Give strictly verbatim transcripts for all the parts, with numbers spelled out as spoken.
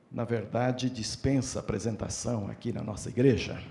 na verdade, dispensa apresentação aqui na nossa igreja,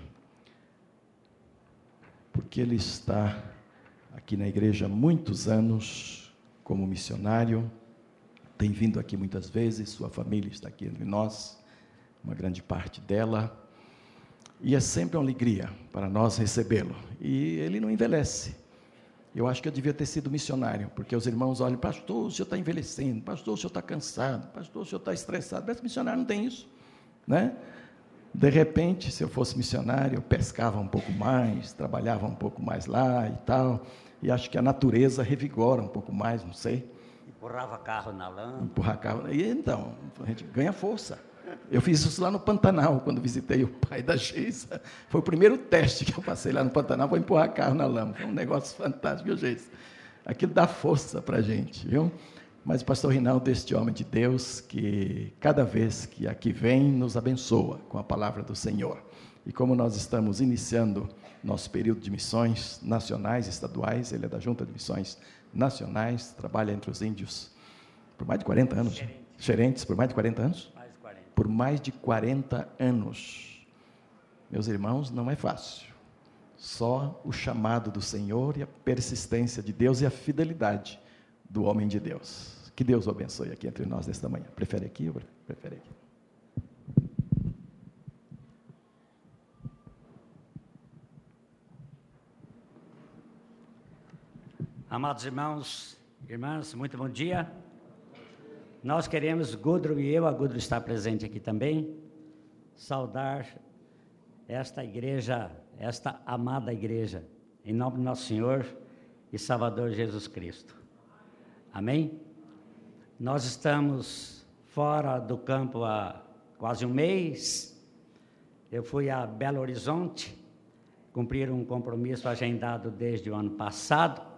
porque ele está aqui na igreja há muitos anos como missionário, tem vindo aqui muitas vezes, sua família está aqui entre nós, uma grande parte dela, e é sempre uma alegria para nós recebê-lo, e ele não envelhece. Eu acho que eu devia ter sido missionário, porque os irmãos olham, pastor, o senhor está envelhecendo, pastor, o senhor está cansado, pastor, o senhor está estressado, mas missionário não tem isso, né? De repente, se eu fosse missionário, eu pescava um pouco mais, trabalhava um pouco mais lá e tal, e acho que a natureza revigora um pouco mais, não sei. Empurrava carro na lama. Empurrar carro, e então, a gente ganha força. Eu fiz isso lá no Pantanal, quando visitei o pai da Geisa. Foi o primeiro teste que eu passei lá no Pantanal, foi empurrar carro na lama. Foi um negócio fantástico, viu, Geisa? Aquilo dá força para a gente, viu? Mas o pastor Rinaldo, este homem de Deus, que cada vez que aqui vem, nos abençoa com a palavra do Senhor. E como nós estamos iniciando nosso período de missões nacionais e estaduais, ele é da Junta de Missões Nacionais, trabalha entre os índios por mais de quarenta anos. Xerentes, Xerentes, por mais de quarenta anos? Por mais de quarenta anos. Meus irmãos, não é fácil. Só o chamado do Senhor e a persistência de Deus e a fidelidade do homem de Deus. Que Deus o abençoe aqui entre nós nesta manhã. Prefere aqui ou prefere aqui? Amados irmãos, irmãs, muito bom dia. Nós queremos, Gudro e eu, a Gudro está presente aqui também, saudar esta igreja, esta amada igreja, em nome do nosso Senhor e Salvador Jesus Cristo. Amém? Nós estamos fora do campo há quase um mês. Eu fui a Belo Horizonte, cumprir um compromisso agendado desde o ano passado,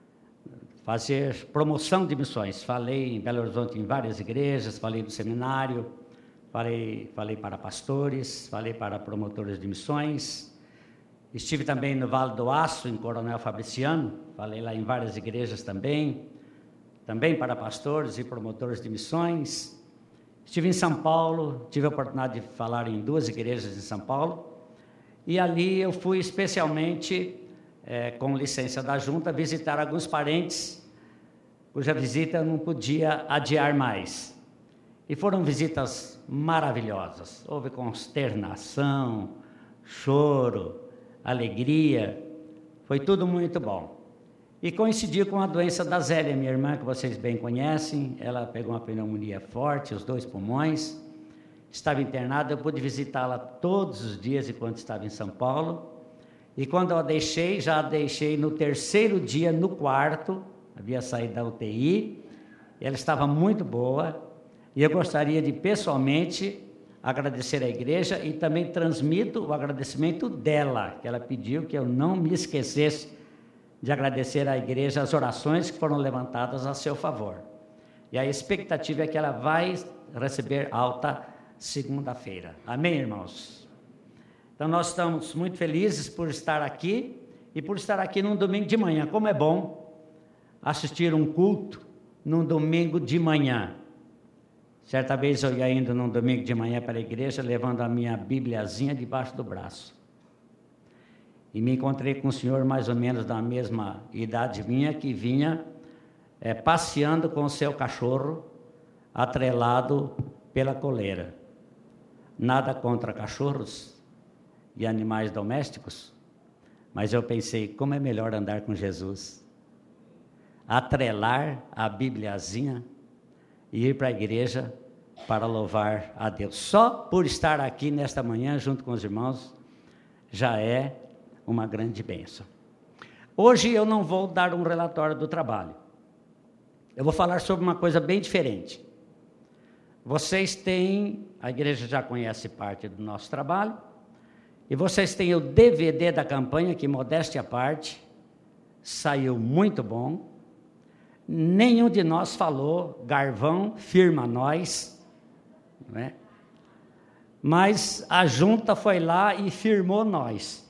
fazer promoção de missões. Falei em Belo Horizonte em várias igrejas, falei no seminário, falei, falei para pastores, falei para promotores de missões. Estive também no Vale do Aço, em Coronel Fabriciano, falei lá em várias igrejas também, também para pastores e promotores de missões. Estive em São Paulo, tive a oportunidade de falar em duas igrejas em São Paulo, e ali eu fui especialmente, é, com licença da junta, visitar alguns parentes, cuja visita eu não podia adiar mais. E foram visitas maravilhosas, houve consternação, choro, alegria, foi tudo muito bom. E coincidiu com a doença da Zélia, minha irmã, que vocês bem conhecem. Ela pegou uma pneumonia forte, os dois pulmões, estava internada. Eu pude visitá-la todos os dias enquanto estava em São Paulo, e quando eu a deixei, já a deixei no terceiro dia no quarto, havia saído da U T I, ela estava muito boa, e eu gostaria de pessoalmente agradecer à igreja, e também transmito o agradecimento dela, que ela pediu que eu não me esquecesse de agradecer à igreja as orações que foram levantadas a seu favor. E a expectativa é que ela vai receber alta segunda-feira. Amém, irmãos? Então, nós estamos muito felizes por estar aqui, e por estar aqui num domingo de manhã. Como é bom assistir um culto num domingo de manhã. Certa vez eu ia indo num domingo de manhã para a igreja, levando a minha bibliazinha debaixo do braço. E me encontrei com um senhor mais ou menos da mesma idade minha, que vinha é, passeando com o seu cachorro, atrelado pela coleira. Nada contra cachorros e animais domésticos, mas eu pensei, como é melhor andar com Jesus? Atrelar a bibliazinha e ir para a igreja para louvar a Deus. Só por estar aqui nesta manhã junto com os irmãos já é uma grande bênção. Hoje eu não vou dar um relatório do trabalho. Eu vou falar sobre uma coisa bem diferente. Vocês têm, a igreja já conhece parte do nosso trabalho, e vocês têm o D V D da campanha, que, modéstia à parte, saiu muito bom. Nenhum de nós falou, Garvão, firma nós, não é? Mas a junta foi lá e firmou nós.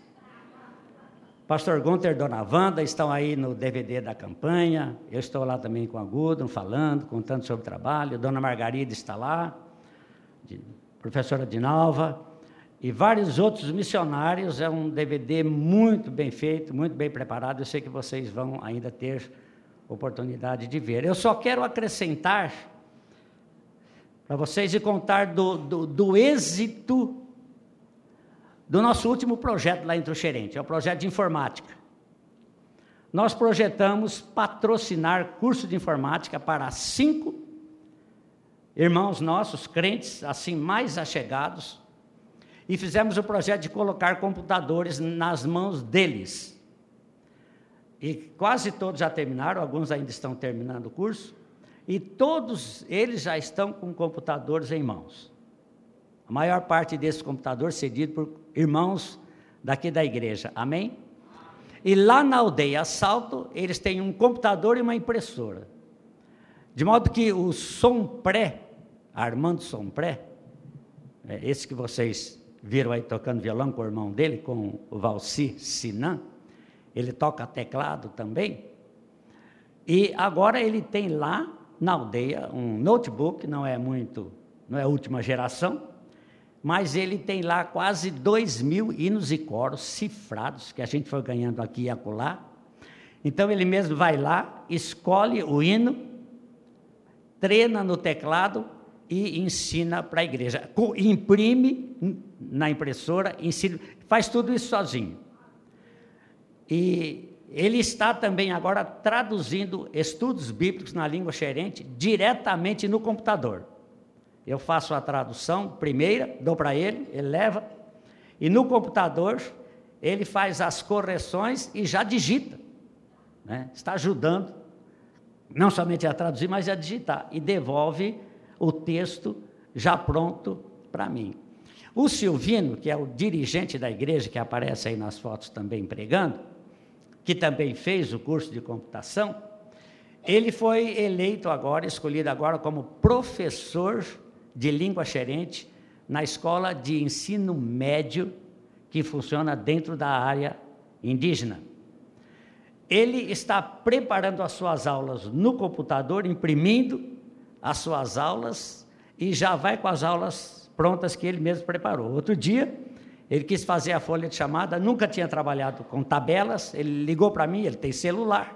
Pastor Gunter e Dona Wanda estão aí no D V D da campanha, eu estou lá também com a Gudrun, falando, contando sobre o trabalho, Dona Margarida está lá, de professora Dinalva, e vários outros missionários. É um D V D muito bem feito, muito bem preparado. Eu sei que vocês vão ainda ter oportunidade de ver. Eu só quero acrescentar para vocês e contar do, do, do êxito do nosso último projeto lá em Truxerente. É o projeto de informática. Nós projetamos patrocinar curso de informática para cinco irmãos nossos, crentes, assim, mais achegados, e fizemos o projeto de colocar computadores nas mãos deles. E quase todos já terminaram, alguns ainda estão terminando o curso, e todos eles já estão com computadores em mãos. A maior parte desses computadores cedido por irmãos daqui da igreja, amém? E lá na aldeia Salto, eles têm um computador e uma impressora. De modo que o Sompré, Armando Sompré, é esse que vocês viram aí tocando violão com o irmão dele, com o Valci Sinan, ele toca teclado também, e agora ele tem lá na aldeia um notebook, não é muito, não é a última geração, mas ele tem lá quase dois mil hinos e coros cifrados, que a gente foi ganhando aqui e acolá. Então ele mesmo vai lá, escolhe o hino, treina no teclado e ensina para a igreja. Imprime na impressora, ensina, faz tudo isso sozinho. E ele está também agora traduzindo estudos bíblicos na língua xerente diretamente no computador. Eu faço a tradução primeira, dou para ele, ele leva, e no computador ele faz as correções e já digita, né? Está ajudando, não somente a traduzir, mas a digitar, e devolve o texto já pronto para mim. O Silvino, que é o dirigente da igreja, que aparece aí nas fotos também pregando, que também fez o curso de computação, ele foi eleito agora, escolhido agora como professor de língua xerente na escola de ensino médio que funciona dentro da área indígena. Ele está preparando as suas aulas no computador, imprimindo as suas aulas e já vai com as aulas prontas que ele mesmo preparou. Outro dia, ele quis fazer a folha de chamada, nunca tinha trabalhado com tabelas, ele ligou para mim, ele tem celular.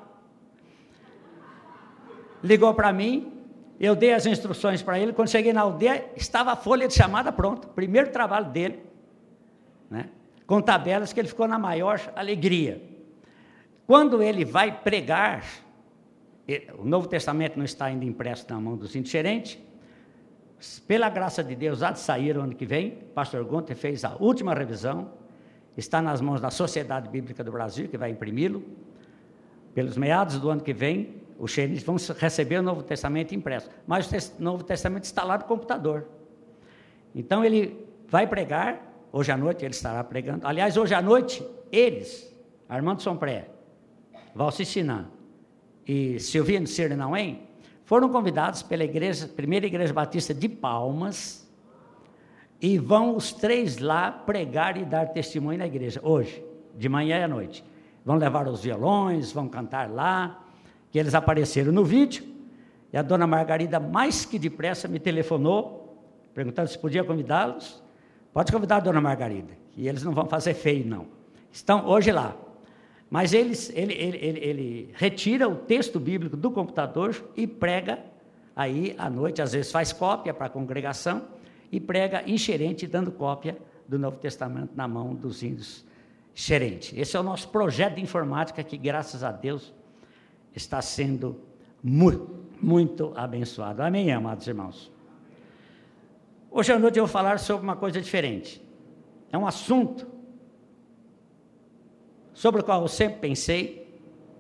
Ligou para mim, eu dei as instruções para ele, quando cheguei na aldeia, estava a folha de chamada pronta, primeiro trabalho dele, né? Com tabelas, que ele ficou na maior alegria. Quando ele vai pregar, o Novo Testamento não está ainda impresso na mão dos xerentes, pela graça de Deus, há de sair o ano que vem, o pastor Gunter fez a última revisão, está nas mãos da Sociedade Bíblica do Brasil, que vai imprimi-lo, pelos meados do ano que vem, os xerentes vão receber o Novo Testamento impresso, mas o Novo Testamento está lá no computador. Então ele vai pregar, hoje à noite ele estará pregando, aliás, hoje à noite, eles, Armando Sompré, Valci Sinan e Silvino Sirinauém, foram convidados pela igreja, primeira igreja batista de Palmas, e vão os três lá pregar e dar testemunho na igreja, hoje, de manhã e à noite. Vão levar os violões, vão cantar lá, que eles apareceram no vídeo, e a dona Margarida, mais que depressa, me telefonou, perguntando se podia convidá-los. Pode convidar a dona Margarida, que eles não vão fazer feio, não. Estão hoje lá. Mas eles, ele, ele, ele, ele retira o texto bíblico do computador e prega aí à noite, às vezes faz cópia para a congregação, e prega em xerente, dando cópia do Novo Testamento na mão dos índios xerente. Esse é o nosso projeto de informática, que, graças a Deus, está sendo muito, muito abençoado. Amém, amados irmãos? Hoje à noite eu vou falar sobre uma coisa diferente. É um assunto sobre o qual eu sempre pensei,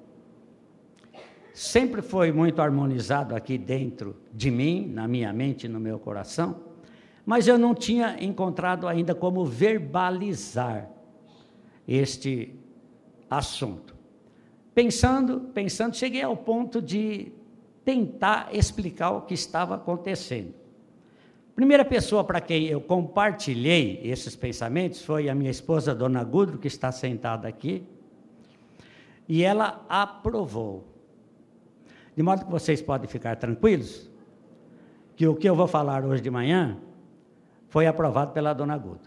sempre foi muito harmonizado aqui dentro de mim, na minha mente e no meu coração, mas eu não tinha encontrado ainda como verbalizar este assunto. Pensando, pensando, cheguei ao ponto de tentar explicar o que estava acontecendo. Primeira pessoa para quem eu compartilhei esses pensamentos foi a minha esposa, dona Gudro, que está sentada aqui, e ela aprovou. De modo que vocês podem ficar tranquilos, que o que eu vou falar hoje de manhã foi aprovado pela dona Gudro.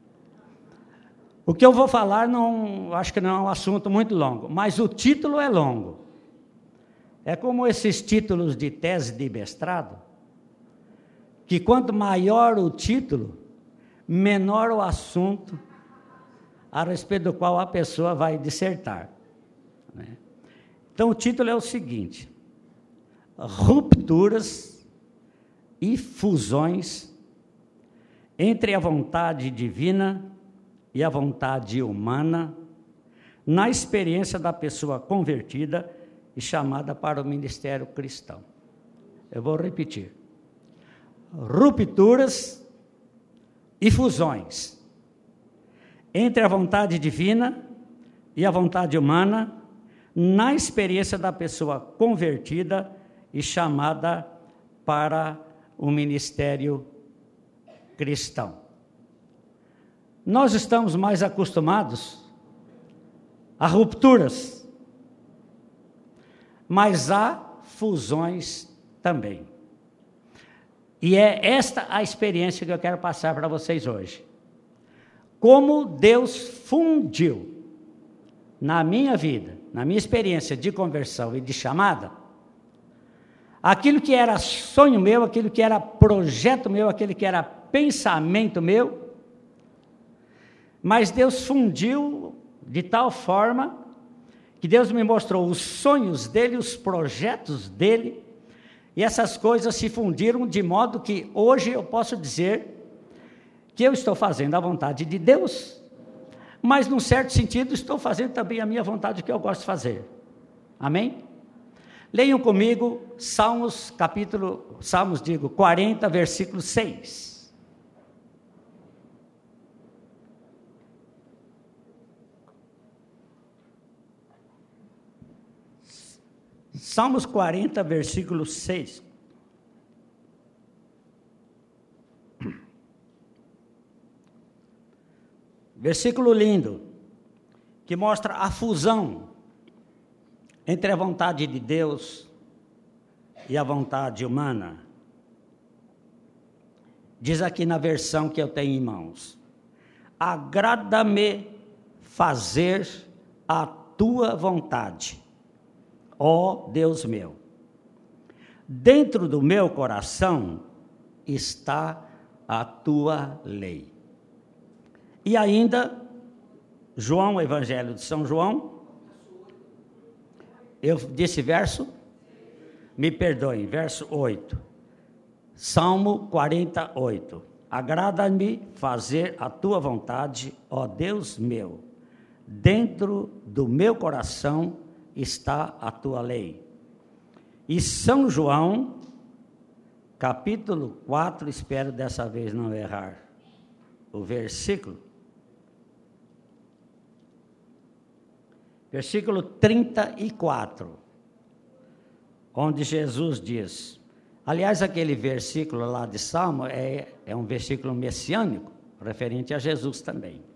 O que eu vou falar, não, acho que não é um assunto muito longo, mas o título é longo. É como esses títulos de tese de mestrado, que quanto maior o título, menor o assunto a respeito do qual a pessoa vai dissertar, né? Então, o título é o seguinte: rupturas e fusões entre a vontade divina e a vontade humana na experiência da pessoa convertida e chamada para o ministério cristão. Eu vou repetir. Rupturas e fusões entre a vontade divina e a vontade humana na experiência da pessoa convertida e chamada para o ministério cristão. Nós estamos mais acostumados a rupturas, mas há fusões também. E é esta a experiência que eu quero passar para vocês hoje. Como Deus fundiu na minha vida, na minha experiência de conversão e de chamada, aquilo que era sonho meu, aquilo que era projeto meu, aquilo que era pensamento meu, mas Deus fundiu de tal forma que Deus me mostrou os sonhos dele, os projetos dele, e essas coisas se fundiram de modo que hoje eu posso dizer que eu estou fazendo a vontade de Deus, mas num certo sentido estou fazendo também a minha vontade, que eu gosto de fazer. Amém? Leiam comigo Salmos, capítulo, Salmos, digo, quarenta, versículo seis. Salmos quarenta, versículo seis. Versículo lindo, que mostra a fusão entre a vontade de Deus e a vontade humana. Diz aqui na versão que eu tenho em mãos: agrada-me fazer a tua vontade, ó Deus meu. Dentro do meu coração está a tua lei. E ainda, João, Evangelho de São João, eu disse verso? Me perdoem, verso oito. Salmo quarenta e oito. Agrada-me fazer a tua vontade, ó Deus meu. Dentro do meu coração está a tua lei. E São João, capítulo quatro, espero dessa vez não errar o versículo. Versículo trinta e quatro, onde Jesus diz, aliás, aquele versículo lá de Salmo é, é um versículo messiânico, referente a Jesus também.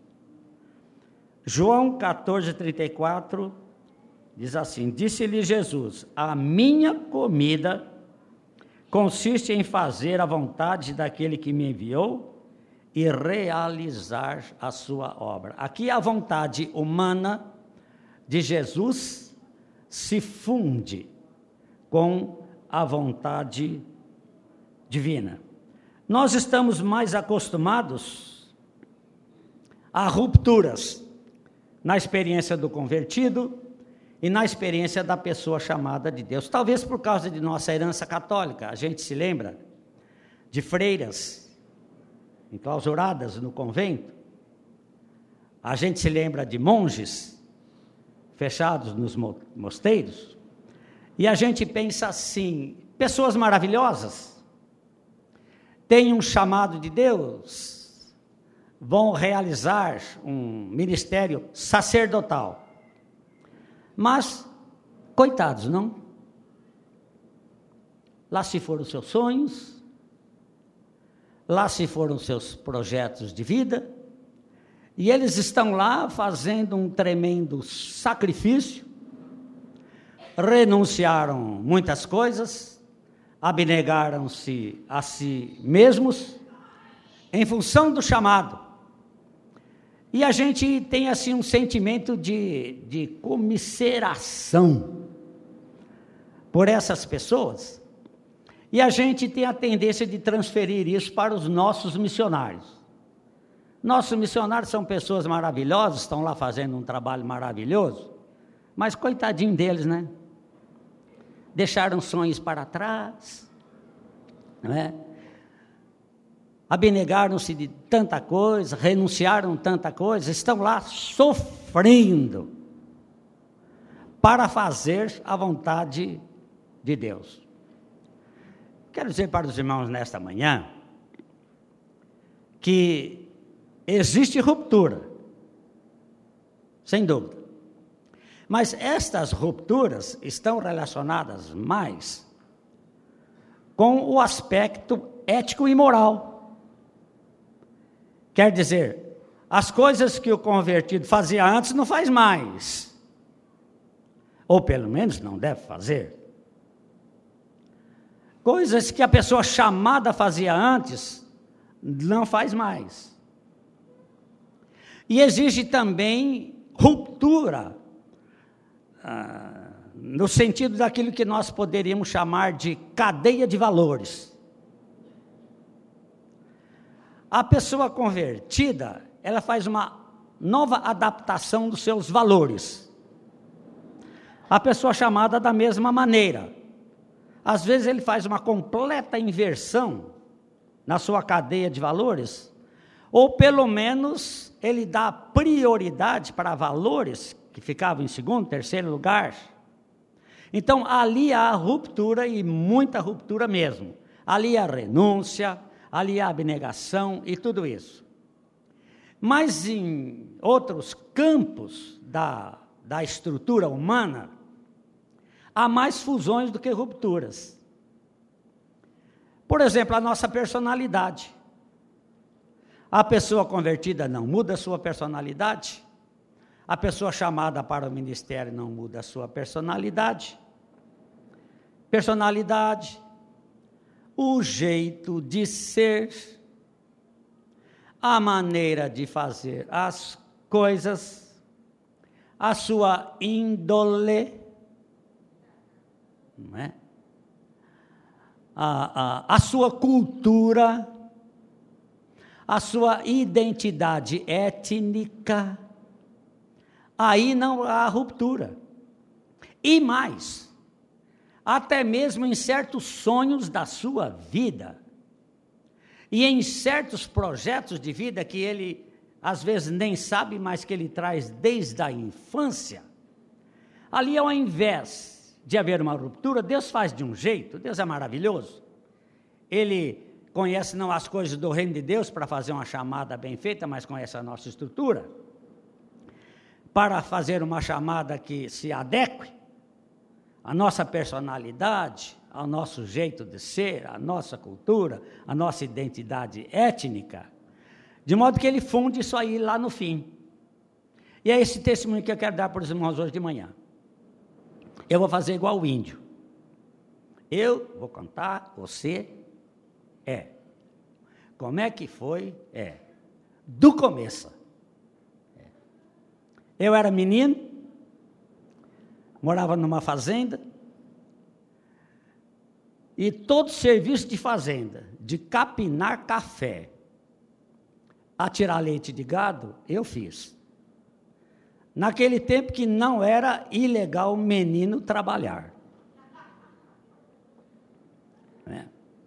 João quatorze, trinta e quatro, diz assim, disse-lhe Jesus, a minha comida consiste em fazer a vontade daquele que me enviou e realizar a sua obra. Aqui a vontade humana de Jesus se funde com a vontade divina. Nós estamos mais acostumados a rupturas na experiência do convertido e na experiência da pessoa chamada de Deus. Talvez por causa de nossa herança católica, a gente se lembra de freiras enclausuradas no convento, a gente se lembra de monges fechados nos mosteiros, e a gente pensa assim, pessoas maravilhosas, têm um chamado de Deus, vão realizar um ministério sacerdotal, mas, coitados, não? Lá se foram os seus sonhos, lá se foram os seus projetos de vida, e eles estão lá fazendo um tremendo sacrifício, renunciaram muitas coisas, abnegaram-se a si mesmos, em função do chamado. E a gente tem assim um sentimento de, de comiseração por essas pessoas, e a gente tem a tendência de transferir isso para os nossos missionários. Nossos missionários são pessoas maravilhosas, estão lá fazendo um trabalho maravilhoso, mas coitadinho deles, né? Deixaram sonhos para trás, não é? Abnegaram-se de tanta coisa, renunciaram tanta coisa, estão lá sofrendo para fazer a vontade de Deus. Quero dizer para os irmãos nesta manhã que existe ruptura, sem dúvida, mas estas rupturas estão relacionadas mais com o aspecto ético e moral. Quer dizer, as coisas que o convertido fazia antes não faz mais, ou pelo menos não deve fazer. Coisas que a pessoa chamada fazia antes, não faz mais. E exige também ruptura, ah, no sentido daquilo que nós poderíamos chamar de cadeia de valores. A pessoa convertida, ela faz uma nova adaptação dos seus valores. A pessoa chamada da mesma maneira. Às vezes ele faz uma completa inversão na sua cadeia de valores, ou pelo menos ele dá prioridade para valores que ficavam em segundo, terceiro lugar. Então ali há ruptura, e muita ruptura mesmo. Ali há renúncia, ali há abnegação e tudo isso. Mas em outros campos da, da estrutura humana, há mais fusões do que rupturas. Por exemplo, a nossa personalidade. A pessoa convertida não muda a sua personalidade. A pessoa chamada para o ministério não muda a sua personalidade. Personalidade, o jeito de ser, a maneira de fazer as coisas, a sua índole, não é? a, a, a sua cultura, a sua identidade étnica, aí não há ruptura. E mais, até mesmo em certos sonhos da sua vida, e em certos projetos de vida que ele, às vezes, nem sabe, mas que ele traz desde a infância, ali ao invés de haver uma ruptura, Deus faz de um jeito, Deus é maravilhoso, Ele conhece não as coisas do reino de Deus para fazer uma chamada bem feita, mas conhece a nossa estrutura, para fazer uma chamada que se adeque à nossa personalidade, ao nosso jeito de ser, à nossa cultura, à nossa identidade étnica, de modo que ele funde isso aí lá no fim. E é esse testemunho que eu quero dar para os irmãos hoje de manhã. Eu vou fazer igual o índio. Eu vou contar, você é. Como é que foi? É. Do começo. É. Eu era menino, morava numa fazenda, e todo serviço de fazenda, de capinar café, a tirar leite de gado, eu fiz. Naquele tempo que não era ilegal menino trabalhar. É.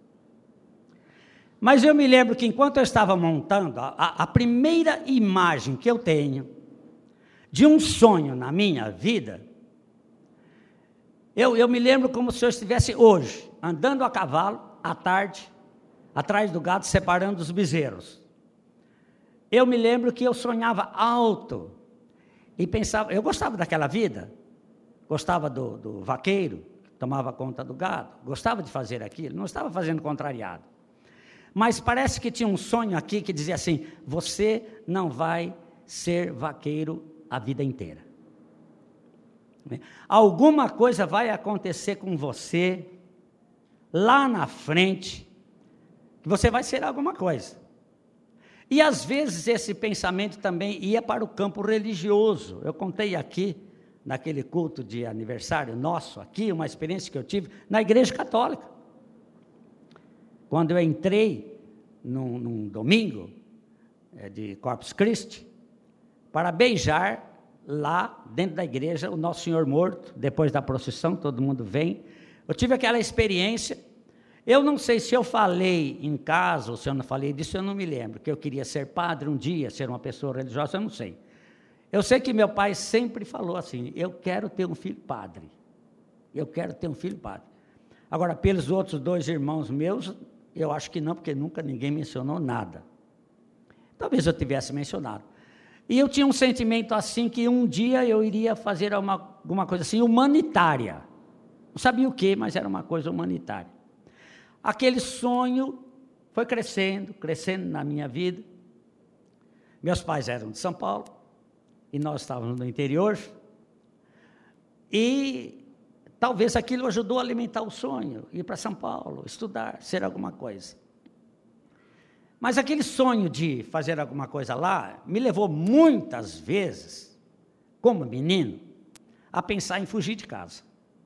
Mas eu me lembro que enquanto eu estava montando, a, a primeira imagem que eu tenho de um sonho na minha vida, eu, eu me lembro como se eu estivesse hoje, andando a cavalo, à tarde, atrás do gado, separando os bezerros. Eu me lembro que eu sonhava alto, e pensava, eu gostava daquela vida, gostava do, do vaqueiro, que tomava conta do gado, gostava de fazer aquilo, não estava fazendo contrariado. Mas parece que tinha um sonho aqui que dizia assim, você não vai ser vaqueiro a vida inteira. Alguma coisa vai acontecer com você, lá na frente, que você vai ser alguma coisa. E, às vezes, esse pensamento também ia para o campo religioso. Eu contei aqui, naquele culto de aniversário nosso, aqui, uma experiência que eu tive na Igreja Católica. Quando eu entrei num, num domingo é, de Corpus Christi, para beijar lá dentro da igreja o Nosso Senhor morto, depois da procissão, todo mundo vem. Eu tive aquela experiência. Eu não sei se eu falei em casa ou se eu não falei disso, eu não me lembro, que eu queria ser padre um dia, ser uma pessoa religiosa, eu não sei. Eu sei que meu pai sempre falou assim, eu quero ter um filho padre, eu quero ter um filho padre. Agora, pelos outros dois irmãos meus, eu acho que não, porque nunca ninguém mencionou nada. Talvez eu tivesse mencionado. E eu tinha um sentimento assim, que um dia eu iria fazer uma, alguma coisa assim, humanitária. Não sabia o quê, mas era uma coisa humanitária. Aquele sonho foi crescendo, crescendo na minha vida. Meus pais eram de São Paulo, e nós estávamos no interior, e talvez aquilo ajudou a alimentar o sonho, ir para São Paulo, estudar, ser alguma coisa. Mas aquele sonho de fazer alguma coisa lá, me levou muitas vezes, como menino, a pensar em fugir de casa.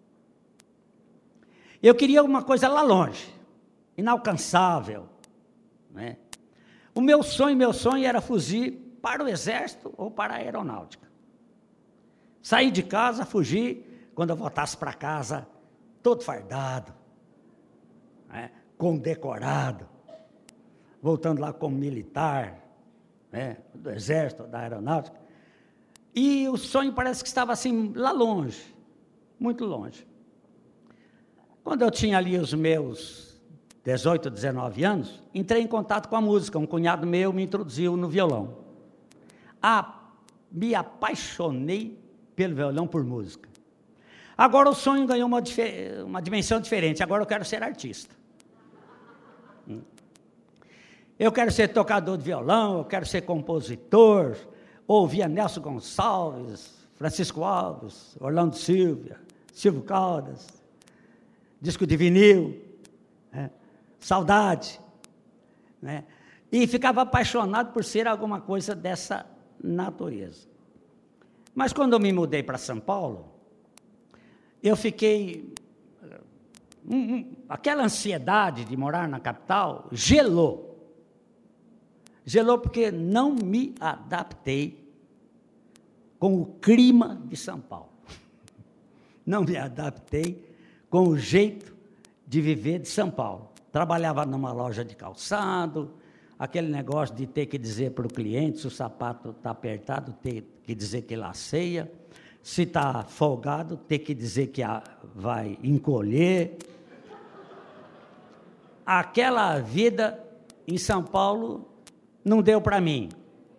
Eu queria alguma coisa lá longe, inalcançável, né? O meu sonho, meu sonho era fugir para o exército ou para a aeronáutica. Sair de casa, fugir, quando eu voltasse para casa, todo fardado, né? Condecorado, voltando lá como militar, né? Do exército, da aeronáutica. E o sonho parece que estava assim, lá longe, muito longe. Quando eu tinha ali os meus dezoito, dezenove anos, entrei em contato com a música. Um cunhado meu me introduziu no violão. Ah, me apaixonei pelo violão, por música. Agora o sonho ganhou uma, uma dimensão diferente. Agora eu quero ser artista. Eu quero ser tocador de violão, eu quero ser compositor. Ouvia Nelson Gonçalves, Francisco Alves, Orlando Silva, Silvio Caldas, disco de vinil, né? Saudade, né? E ficava apaixonado por ser alguma coisa dessa natureza. Mas quando eu me mudei para São Paulo, eu fiquei... Um, um, aquela ansiedade de morar na capital gelou. Gelou porque não me adaptei com o clima de São Paulo. Não me adaptei com o jeito de viver de São Paulo. Trabalhava numa loja de calçado, aquele negócio de ter que dizer para o cliente se o sapato está apertado, ter que dizer que laceia, se está folgado, ter que dizer que vai encolher. Aquela vida em São Paulo não deu para mim.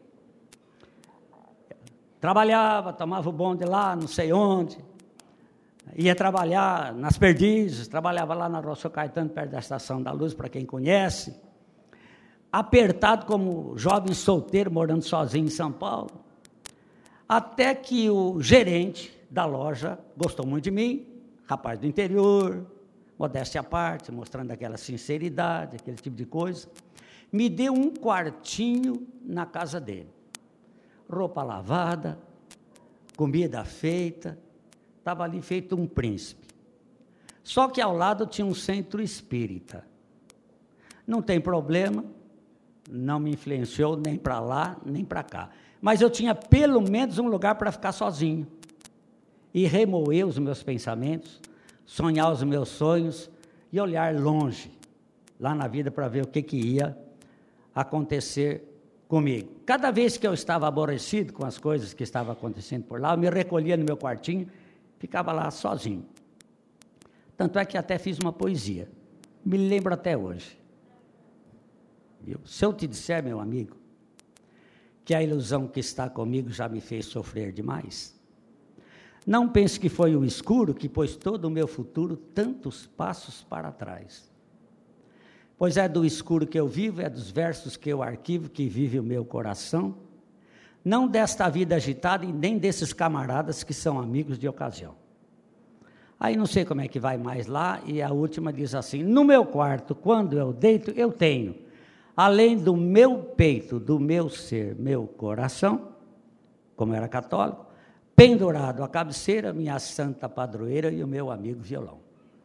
Trabalhava, tomava o bonde lá, não sei onde, ia trabalhar nas Perdizes, trabalhava lá na Rua Caetano, perto da Estação da Luz, para quem conhece, apertado como jovem solteiro, morando sozinho em São Paulo, até que o gerente da loja gostou muito de mim, rapaz do interior, modéstia à parte, mostrando aquela sinceridade, aquele tipo de coisa, me deu um quartinho na casa dele, roupa lavada, comida feita, estava ali feito um príncipe. Só que ao lado tinha um centro espírita. Não tem problema, não me influenciou nem para lá, nem para cá. Mas eu tinha pelo menos um lugar para ficar sozinho. E remoer os meus pensamentos, sonhar os meus sonhos e olhar longe, lá na vida, para ver o que, que ia acontecer comigo. Cada vez que eu estava aborrecido com as coisas que estavam acontecendo por lá, eu me recolhia no meu quartinho, ficava lá sozinho. Tanto é que até fiz uma poesia. Me lembro até hoje. Viu? Se eu te disser, meu amigo, que a ilusão que está comigo já me fez sofrer demais, não pense que foi o escuro que pôs todo o meu futuro tantos passos para trás. Pois é do escuro que eu vivo, é dos versos que eu arquivo, que vive o meu coração, não desta vida agitada e nem desses camaradas que são amigos de ocasião. Aí não sei como é que vai mais lá, e a última diz assim: no meu quarto, quando eu deito, eu tenho além do meu peito, do meu ser, meu coração, como era católico, pendurado à cabeceira, minha santa padroeira e o meu amigo violão.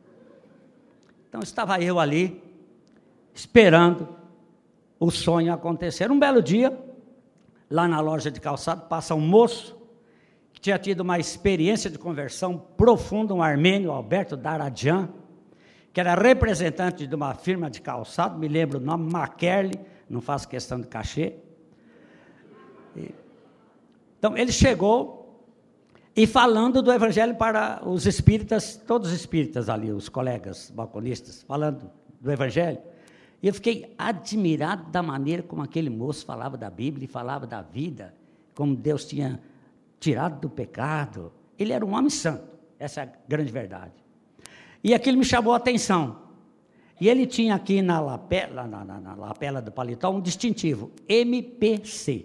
Então estava eu ali, esperando o sonho acontecer. Um belo dia, lá na loja de calçado, passa um moço, que tinha tido uma experiência de conversão profunda, um armênio, Alberto Daradian, que era representante de uma firma de calçado, me lembro o nome, Maquerle, não faço questão de cachê. E, então, ele chegou e falando do evangelho para os espíritas, todos os espíritas ali, os colegas balconistas, falando do evangelho. E eu fiquei admirado da maneira como aquele moço falava da Bíblia e falava da vida, como Deus tinha tirado do pecado. Ele era um homem santo, essa é a grande verdade. E aquilo me chamou a atenção. E ele tinha aqui na lapela, na, na, na lapela do paletó um distintivo, M P C.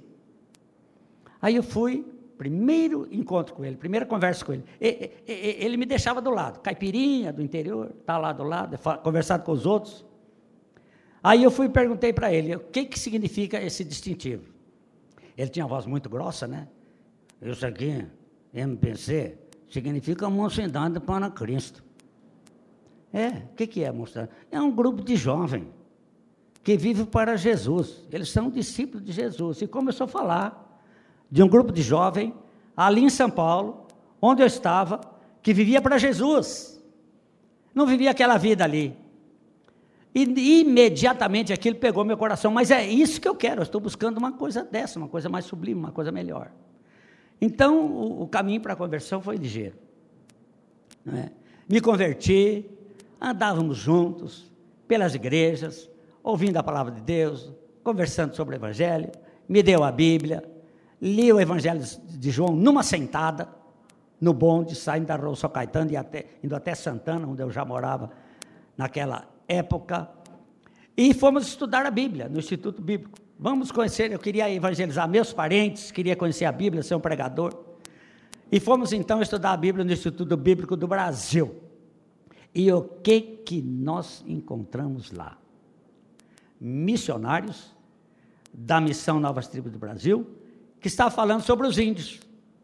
Aí eu fui, primeiro encontro com ele, primeira conversa com ele. E, e, ele me deixava do lado, caipirinha do interior, está lá do lado, conversado com os outros. Aí eu fui e perguntei para ele, o que, que significa esse distintivo? Ele tinha uma voz muito grossa, né? Isso aqui, M P C, significa Mocidade para Cristo. É, o que, que é Mocidade? É um grupo de jovens que vive para Jesus. Eles são discípulos de Jesus. E começou a falar de um grupo de jovens ali em São Paulo, onde eu estava, que vivia para Jesus. Não vivia aquela vida ali. E imediatamente aquilo pegou meu coração, mas é isso que eu quero, eu estou buscando uma coisa dessa, uma coisa mais sublime, uma coisa melhor. Então, o, o caminho para a conversão foi ligeiro. Não é? Me converti, andávamos juntos, pelas igrejas, ouvindo a palavra de Deus, conversando sobre o Evangelho, me deu a Bíblia, li o Evangelho de João numa sentada, no bonde, saindo da Rua São Caetano, e até, indo até Santana, onde eu já morava naquela época, e fomos estudar a Bíblia no Instituto Bíblico. Vamos conhecer, eu queria evangelizar meus parentes, queria conhecer a Bíblia, ser um pregador, e fomos então estudar a Bíblia no Instituto Bíblico do Brasil. E o que que nós encontramos lá? Missionários da Missão Novas Tribos do Brasil, que estavam falando sobre os índios.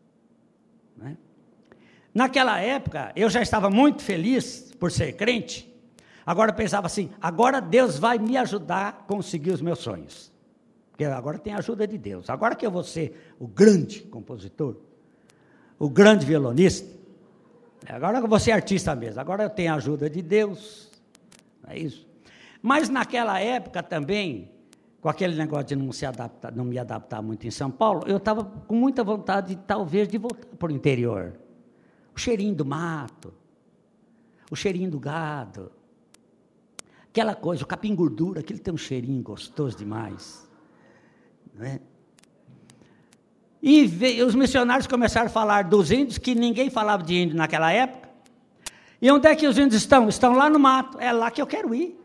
Né? Naquela época, eu já estava muito feliz por ser crente. Agora eu pensava assim, agora Deus vai me ajudar a conseguir os meus sonhos. Porque agora tem a ajuda de Deus. Agora que eu vou ser o grande compositor, o grande violonista, agora eu vou ser artista mesmo, agora eu tenho a ajuda de Deus. É isso. Mas naquela época também, com aquele negócio de não, se adaptar, não me adaptar muito em São Paulo, eu estava com muita vontade, de, talvez, de voltar para o interior. O cheirinho do mato, o cheirinho do gado, aquela coisa, o capim gordura, aquele tem um cheirinho gostoso demais. Não é? E veio, os missionários começaram a falar dos índios, que ninguém falava de índio naquela época. E onde é que os índios estão? Estão lá no mato, é lá que eu quero ir.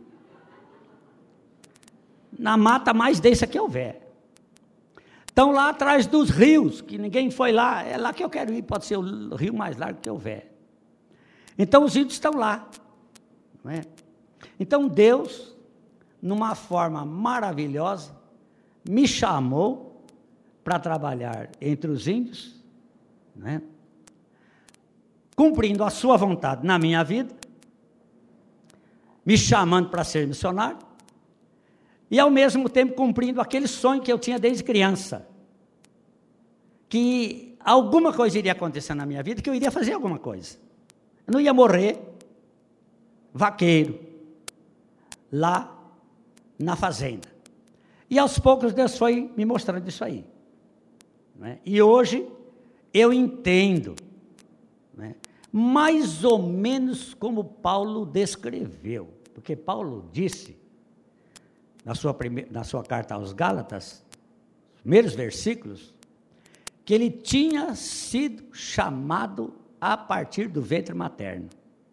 Na mata mais densa que houver. Estão lá atrás dos rios, que ninguém foi lá, é lá que eu quero ir, pode ser o rio mais largo que houver. Então os índios estão lá. Não é? Então Deus, numa forma maravilhosa, me chamou para trabalhar entre os índios, né? Cumprindo a sua vontade na minha vida, me chamando para ser missionário, e ao mesmo tempo cumprindo aquele sonho que eu tinha desde criança, que alguma coisa iria acontecer na minha vida, que eu iria fazer alguma coisa. Eu não ia morrer vaqueiro, lá na fazenda. E aos poucos Deus foi me mostrando isso aí. Né? E hoje eu entendo, né, mais ou menos como Paulo descreveu, porque Paulo disse, na sua, primeira, na sua carta aos Gálatas, os primeiros versículos, que ele tinha sido chamado a partir do ventre materno.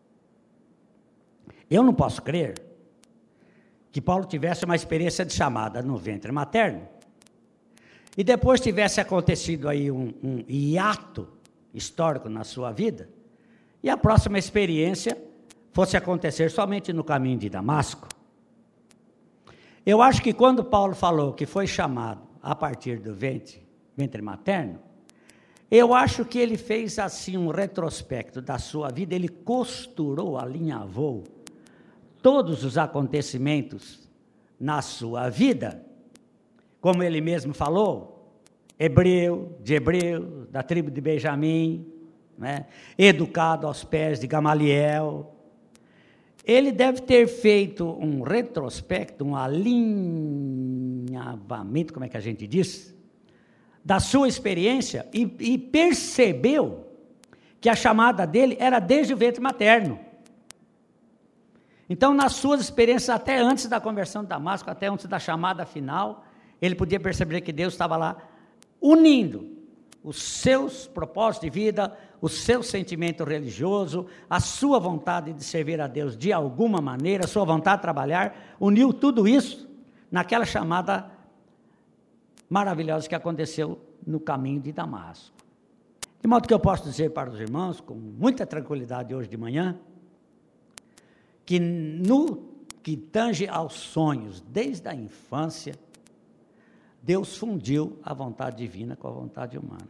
Eu não posso crer que Paulo tivesse uma experiência de chamada no ventre materno, e depois tivesse acontecido aí um, um hiato histórico na sua vida, e a próxima experiência fosse acontecer somente no caminho de Damasco. Eu acho que quando Paulo falou que foi chamado a partir do ventre, ventre materno, eu acho que ele fez assim um retrospecto da sua vida, ele costurou, alinhavou todos os acontecimentos na sua vida, como ele mesmo falou, hebreu, de hebreu, da tribo de Benjamim, né? Educado aos pés de Gamaliel. Ele deve ter feito um retrospecto, um alinhavamento, como é que a gente diz, da sua experiência e, e percebeu que a chamada dele era desde o ventre materno. Então, nas suas experiências, até antes da conversão de Damasco, até antes da chamada final, ele podia perceber que Deus estava lá unindo os seus propósitos de vida, o seu sentimento religioso, a sua vontade de servir a Deus de alguma maneira, a sua vontade de trabalhar, uniu tudo isso naquela chamada maravilhosa que aconteceu no caminho de Damasco. De modo que eu posso dizer para os irmãos, com muita tranquilidade hoje de manhã, que no que tange aos sonhos, desde a infância, Deus fundiu a vontade divina com a vontade humana.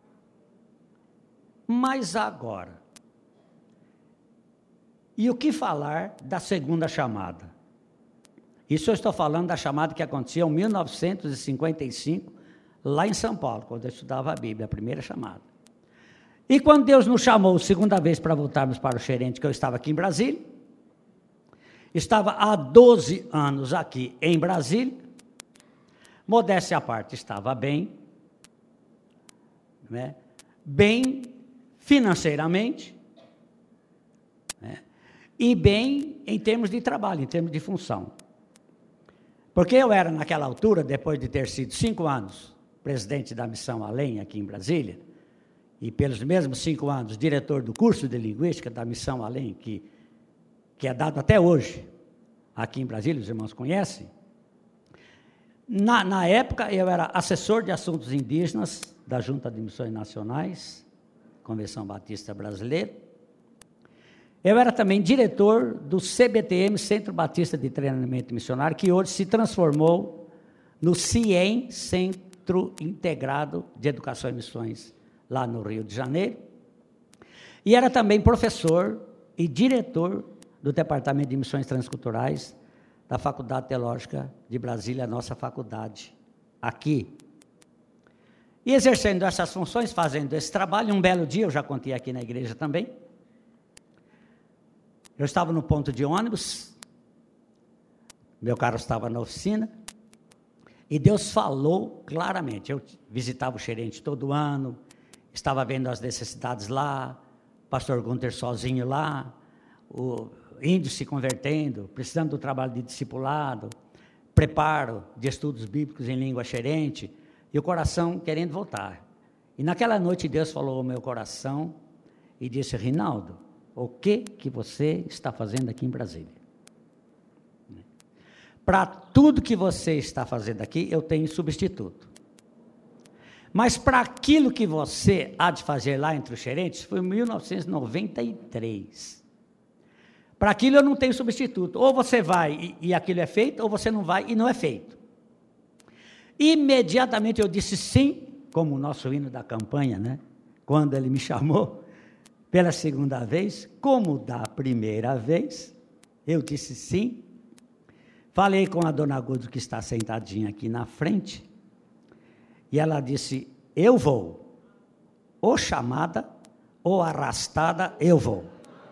Mas agora, e o que falar da segunda chamada? Isso eu estou falando da chamada que aconteceu em mil novecentos e cinquenta e cinco, lá em São Paulo, quando eu estudava a Bíblia, a primeira chamada. E quando Deus nos chamou segunda vez para voltarmos para o Xerente, que eu estava aqui em Brasília, estava há doze anos aqui em Brasília, modéstia à parte, estava bem, né? Bem financeiramente, né? E bem em termos de trabalho, em termos de função. Porque eu era, naquela altura, depois de ter sido cinco anos presidente da Missão Além, aqui em Brasília, e pelos mesmos cinco anos diretor do curso de Linguística da Missão Além, que, que é dado até hoje, aqui em Brasília, os irmãos conhecem. Na, na época, eu era assessor de assuntos indígenas da Junta de Missões Nacionais, Convenção Batista Brasileira. Eu era também diretor do C B T M, Centro Batista de Treinamento Missionário, que hoje se transformou no CIEM, Centro Integrado de Educação e Missões, lá no Rio de Janeiro. E era também professor e diretor do Departamento de Missões Transculturais da Faculdade Teológica de Brasília, a nossa faculdade, aqui. E exercendo essas funções, fazendo esse trabalho, um belo dia, eu já contei aqui na igreja também, eu estava no ponto de ônibus, meu carro estava na oficina, e Deus falou claramente. Eu visitava o Xerente todo ano, estava vendo as necessidades lá, pastor Gunter sozinho lá, o índio se convertendo, precisando do trabalho de discipulado, preparo de estudos bíblicos em língua xerente, e o coração querendo voltar. E naquela noite Deus falou ao meu coração e disse: Rinaldo, o que que você está fazendo aqui em Brasília? Para tudo que você está fazendo aqui, eu tenho substituto. Mas para aquilo que você há de fazer lá entre os xerentes, foi em mil novecentos e noventa e três. Para aquilo eu não tenho substituto. Ou você vai e, e aquilo é feito, ou você não vai e não é feito. Imediatamente eu disse sim, como o nosso hino da campanha, né? Quando ele me chamou pela segunda vez, como da primeira vez, eu disse sim. Falei com a dona Gudo, que está sentadinha aqui na frente, e ela disse: eu vou, ou chamada, ou arrastada, eu vou.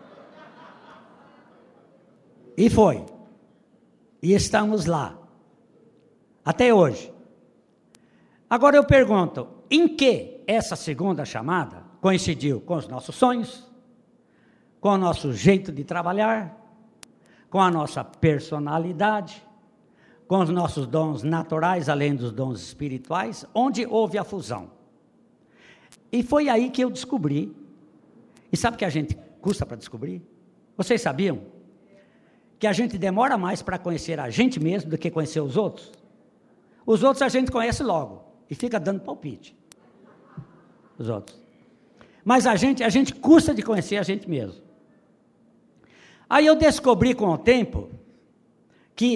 E foi. E estamos lá, até hoje. Agora eu pergunto, em que essa segunda chamada coincidiu com os nossos sonhos, com o nosso jeito de trabalhar, com a nossa personalidade, com os nossos dons naturais, além dos dons espirituais, onde houve a fusão. E foi aí que eu descobri, e sabe que a gente custa para descobrir? Vocês sabiam que a gente demora mais para conhecer a gente mesmo do que conhecer os outros? Os outros a gente conhece logo, e fica dando palpite. Os outros. Mas a gente, a gente custa de conhecer a gente mesmo. Aí eu descobri com o tempo que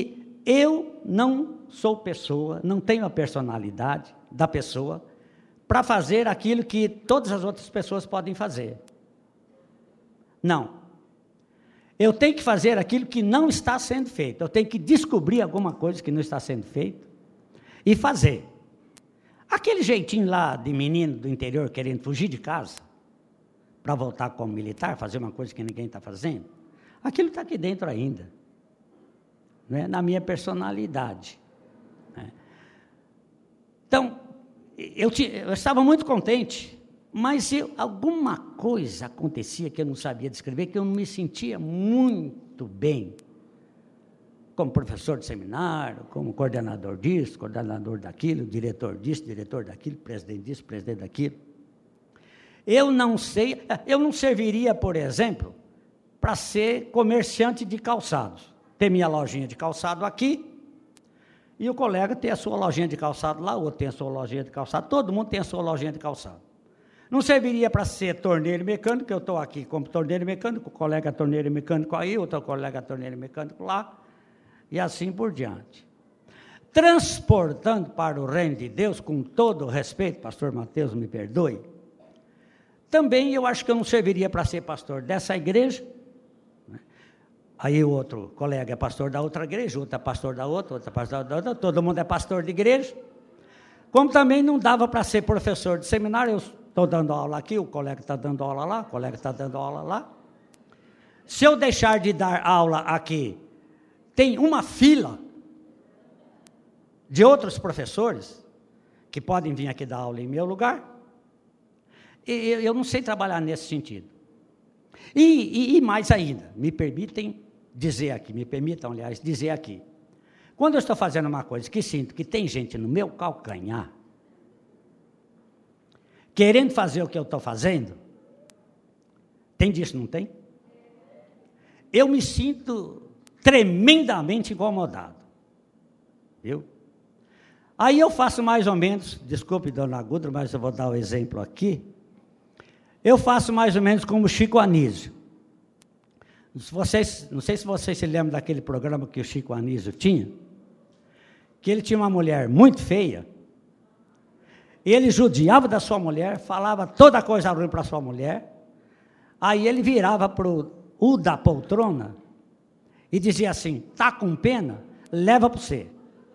eu não sou pessoa, não tenho a personalidade da pessoa para fazer aquilo que todas as outras pessoas podem fazer. Não. Eu tenho que fazer aquilo que não está sendo feito. Eu tenho que descobrir alguma coisa que não está sendo feita e fazer. Aquele jeitinho lá de menino do interior querendo fugir de casa para voltar como militar, fazer uma coisa que ninguém está fazendo, aquilo está aqui dentro ainda, né? Na minha personalidade. Né? Então, eu, te, eu estava muito contente, mas eu, alguma coisa acontecia que eu não sabia descrever, que eu não me sentia muito bem, como professor de seminário, como coordenador disso, coordenador daquilo, diretor disso, diretor daquilo, presidente disso, presidente daquilo. Eu não sei, eu não serviria, por exemplo, para ser comerciante de calçados. Ter minha lojinha de calçado aqui, e o colega tem a sua lojinha de calçado lá, o outro tem a sua lojinha de calçado, todo mundo tem a sua lojinha de calçado. Não serviria para ser torneiro mecânico, eu estou aqui como torneiro mecânico, o colega torneiro mecânico aí, outro colega torneiro mecânico lá, e assim por diante. Transportando para o reino de Deus, com todo o respeito, pastor Mateus, me perdoe, também eu acho que eu não serviria para ser pastor dessa igreja, né? Aí o outro colega é pastor da outra igreja, outro é pastor da outra, outro é pastor da outra, todo mundo é pastor de igreja, como também não dava para ser professor de seminário, eu estou dando aula aqui, o colega está dando aula lá, o colega está dando aula lá. Se eu deixar de dar aula aqui, tem uma fila de outros professores que podem vir aqui dar aula em meu lugar, e eu não sei trabalhar nesse sentido. E, e, e mais ainda, me permitem dizer aqui, me permitam, aliás, dizer aqui, quando eu estou fazendo uma coisa que sinto que tem gente no meu calcanhar, querendo fazer o que eu estou fazendo, tem disso, não tem? Eu me sinto tremendamente incomodado, viu? Aí eu faço mais ou menos, desculpe, dona Gudra, mas eu vou dar o um exemplo aqui, eu faço mais ou menos como Chico Anísio. Vocês, não sei se vocês se lembram daquele programa que o Chico Anísio tinha, que ele tinha uma mulher muito feia, ele judiava da sua mulher, falava toda coisa ruim para sua mulher, aí ele virava para o da poltrona e dizia assim, tá com pena? Leva para você.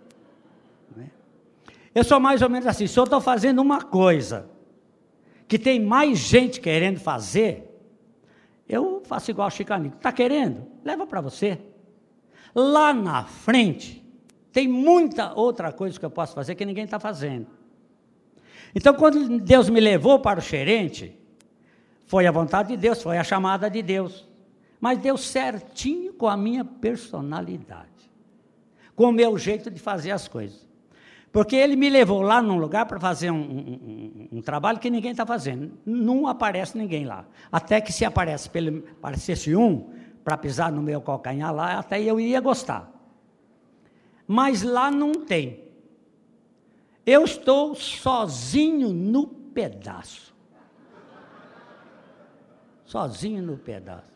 Eu sou mais ou menos assim, se eu estou fazendo uma coisa que tem mais gente querendo fazer, eu faço igual o Chico Anísio, está querendo? Leva para você. Lá na frente, tem muita outra coisa que eu posso fazer que ninguém está fazendo. Então, quando Deus me levou para o gerente, foi a vontade de Deus, foi a chamada de Deus, mas deu certinho com a minha personalidade, com o meu jeito de fazer as coisas. Porque ele me levou lá num lugar para fazer um, um, um, um trabalho que ninguém está fazendo. Não aparece ninguém lá. Até que se aparece, pelo, aparecesse um para pisar no meu calcanhar lá, até eu iria gostar. Mas lá não tem. Eu estou sozinho no pedaço. Sozinho no pedaço.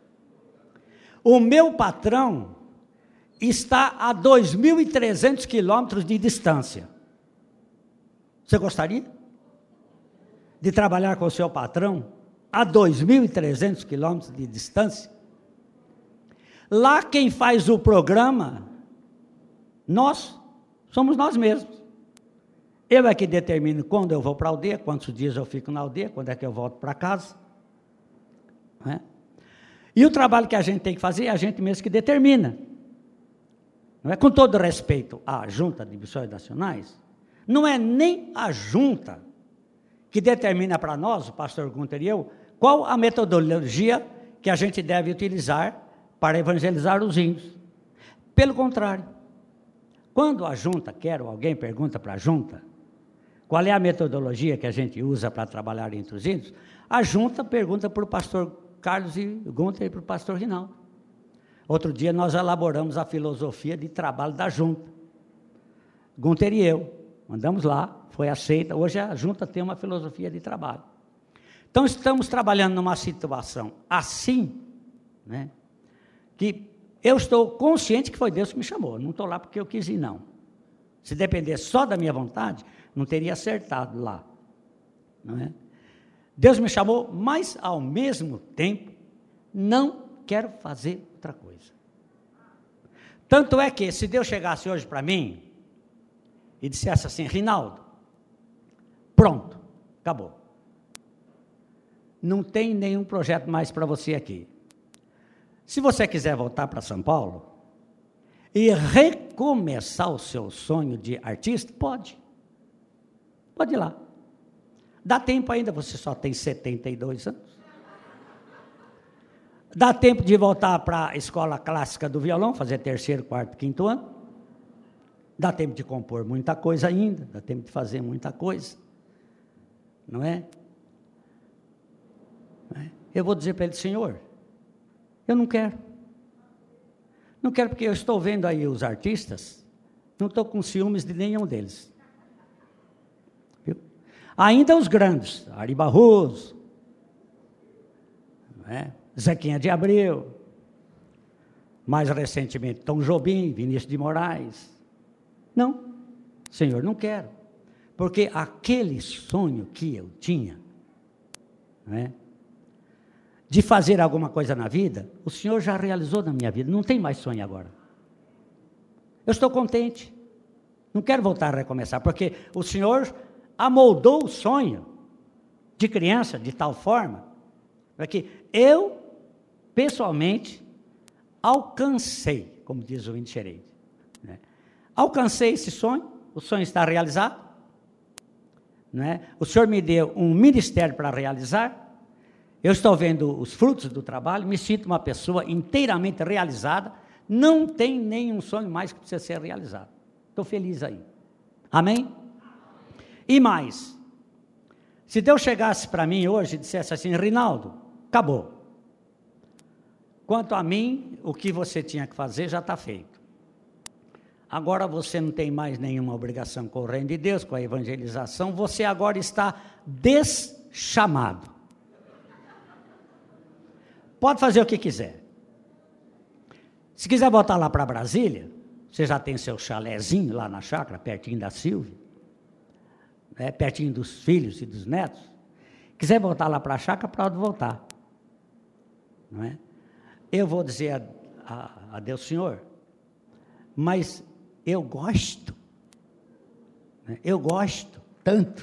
O meu patrão está a dois mil e trezentos quilômetros de distância. Você gostaria de trabalhar com o seu patrão a dois mil e trezentos quilômetros de distância? Lá quem faz o programa, nós, somos nós mesmos. Eu é que determino quando eu vou para a aldeia, quantos dias eu fico na aldeia, quando é que eu volto para casa. Não é? E o trabalho que a gente tem que fazer, é a gente mesmo que determina. Não é? Com todo respeito à Junta de Missões Nacionais, não é nem a Junta que determina para nós, o pastor Gunter e eu, qual a metodologia que a gente deve utilizar para evangelizar os índios. Pelo contrário, quando a Junta quer, ou alguém pergunta para a Junta, qual é a metodologia que a gente usa para trabalhar entre os índios, a Junta pergunta para o pastor Carlos e Gunter e para o pastor Rinaldo. Outro dia nós elaboramos a filosofia de trabalho da Junta. Gunter e eu, mandamos lá, foi aceita. Hoje a Junta tem uma filosofia de trabalho. Então estamos trabalhando numa situação assim, né, que eu estou consciente que foi Deus que me chamou, não estou lá porque eu quis ir, não. Se dependesse só da minha vontade, não teria acertado lá, não é? Deus me chamou, mas ao mesmo tempo, não quero fazer outra coisa. Tanto é que, se Deus chegasse hoje para mim, e dissesse assim, Rinaldo, pronto, acabou. Não tem nenhum projeto mais para você aqui. Se você quiser voltar para São Paulo e recomeçar o seu sonho de artista, pode. Pode ir lá. Dá tempo ainda, você só tem setenta e dois anos. Dá tempo de voltar para a escola clássica do violão, fazer terceiro, quarto, quinto ano. Dá tempo de compor muita coisa ainda, dá tempo de fazer muita coisa. Não é? Eu vou dizer para ele, Senhor, eu não quero. Não quero porque eu estou vendo aí os artistas, não estou com ciúmes de nenhum deles. Viu? Ainda os grandes, Ari Barroso, não é? Zequinha de Abreu, mais recentemente Tom Jobim, Vinícius de Moraes. Não, Senhor, não quero. Porque aquele sonho que eu tinha, não é? De fazer alguma coisa na vida, o Senhor já realizou na minha vida, não tem mais sonho agora. Eu estou contente, não quero voltar a recomeçar, porque o Senhor amoldou o sonho de criança de tal forma, para que eu, pessoalmente, alcancei, como diz o Índio Xerede, né? Alcancei esse sonho, o sonho está realizado, não é? O Senhor me deu um ministério para realizar, eu estou vendo os frutos do trabalho, me sinto uma pessoa inteiramente realizada, não tem nenhum sonho mais que precisa ser realizado. Estou feliz aí. Amém? E mais, se Deus chegasse para mim hoje e dissesse assim, Rinaldo, acabou. Quanto a mim, o que você tinha que fazer já está feito. Agora você não tem mais nenhuma obrigação com o reino de Deus, com a evangelização, você agora está deschamado. Pode fazer o que quiser. Se quiser voltar lá para Brasília, você já tem seu chalézinho lá na chácara, pertinho da Silvia, né, pertinho dos filhos e dos netos. Quiser voltar lá para a chácara, pode voltar. Não é? Eu vou dizer a, a, a Deus, Senhor, mas eu gosto, né, eu gosto tanto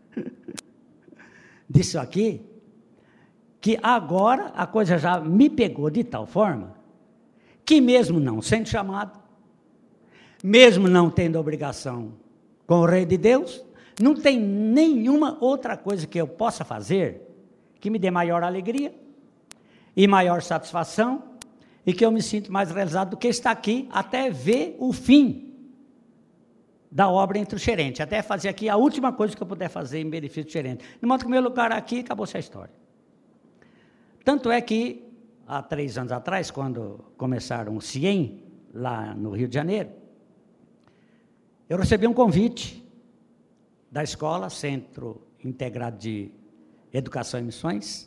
disso aqui, que agora a coisa já me pegou de tal forma, que mesmo não sendo chamado, mesmo não tendo obrigação com o Rei de Deus, não tem nenhuma outra coisa que eu possa fazer que me dê maior alegria e maior satisfação e que eu me sinto mais realizado do que estar aqui até ver o fim da obra entre o gerente, até fazer aqui a última coisa que eu puder fazer em benefício do gerente. De modo que o meu lugar aqui acabou-se a história. Tanto é que, há três anos atrás, quando começaram o CIEM, lá no Rio de Janeiro, eu recebi um convite da escola, Centro Integrado de Educação e Missões,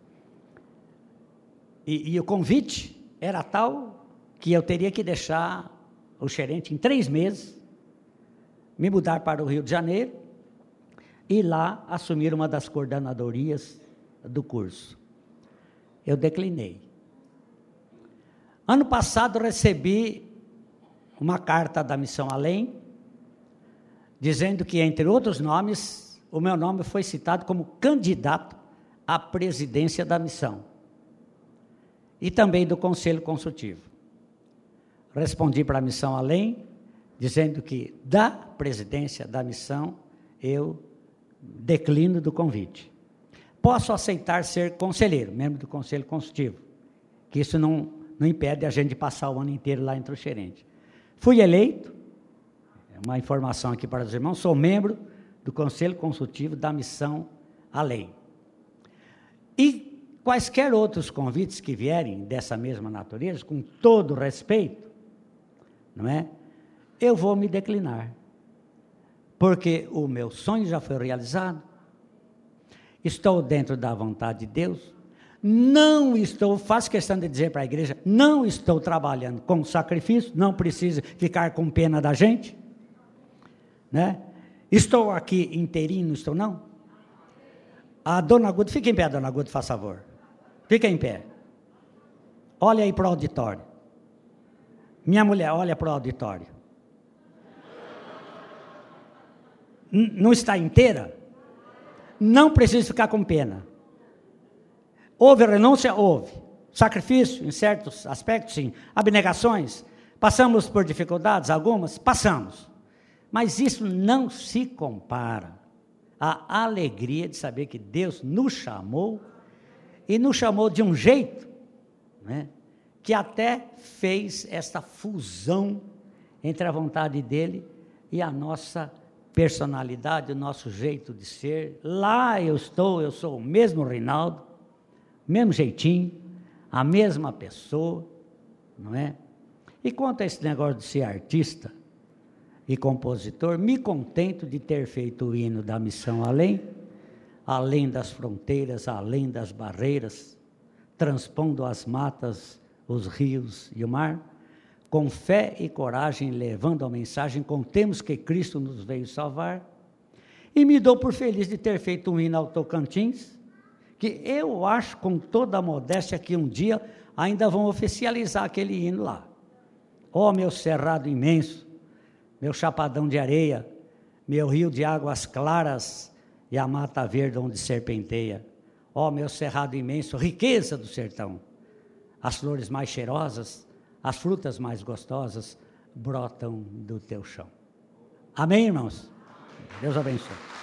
e, e o convite era tal que eu teria que deixar o gerente em três meses, me mudar para o Rio de Janeiro e lá assumir uma das coordenadorias do curso. Eu declinei. Ano passado recebi uma carta da Missão Além, dizendo que, entre outros nomes, o meu nome foi citado como candidato à presidência da missão e também do Conselho Consultivo. Respondi para a Missão Além, dizendo que da presidência da missão eu declino do convite. Posso aceitar ser conselheiro, membro do Conselho Consultivo, que isso não, não impede a gente de passar o ano inteiro lá entre os gerentes. Fui eleito, uma informação aqui para os irmãos, sou membro do Conselho Consultivo da Missão Além. E quaisquer outros convites que vierem dessa mesma natureza, com todo respeito, não é? Eu vou me declinar, porque o meu sonho já foi realizado, estou dentro da vontade de Deus, Não estou, faço questão de dizer para a igreja, não estou trabalhando com sacrifício, não precisa ficar com pena da gente, né? Estou aqui inteirinho, não estou não? A dona Guda, fica em pé, dona Guda, faz favor. Fica em pé. Olha aí para o auditório. Minha mulher, olha para o auditório. N- não está inteira? Não precisa ficar com pena. Houve renúncia? Houve. Sacrifício, em certos aspectos, sim. Abnegações. Passamos por dificuldades, algumas? Passamos. Mas isso não se compara à alegria de saber que Deus nos chamou, e nos chamou de um jeito, né, que até fez essa fusão entre a vontade dEle e a nossa personalidade, o nosso jeito de ser. Lá eu estou, eu sou o mesmo Reinaldo, mesmo jeitinho, a mesma pessoa, não é? E quanto a esse negócio de ser artista e compositor, me contento de ter feito o hino da missão além, além das fronteiras, além das barreiras, transpondo as matas, os rios e o mar, com fé e coragem, levando a mensagem, contemos que Cristo nos veio salvar, e me dou por feliz de ter feito um hino ao Tocantins, que eu acho, com toda a modéstia, que um dia ainda vão oficializar aquele hino lá. Ó, meu cerrado imenso, meu chapadão de areia, meu rio de águas claras e a mata verde onde serpenteia. Ó, meu cerrado imenso, riqueza do sertão, as flores mais cheirosas, as frutas mais gostosas brotam do teu chão. Amém, irmãos? Deus abençoe.